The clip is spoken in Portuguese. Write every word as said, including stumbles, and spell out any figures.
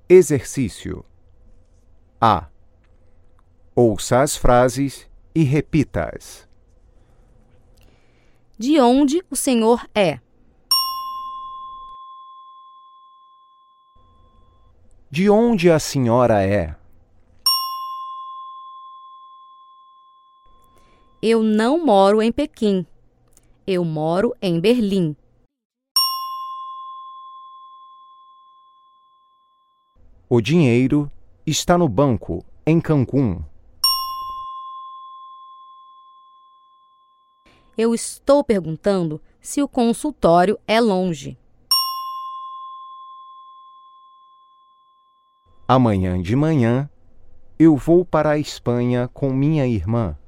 Exercício. A. Ouça as frases e repita-as. De onde o senhor é? De onde a senhora é? Eu não moro em Pequim. Eu moro em Berlim. O dinheiro está no banco, em Cancún. Eu estou perguntando se o consultório é longe. Amanhã de manhã, eu vou para a Espanha com minha irmã.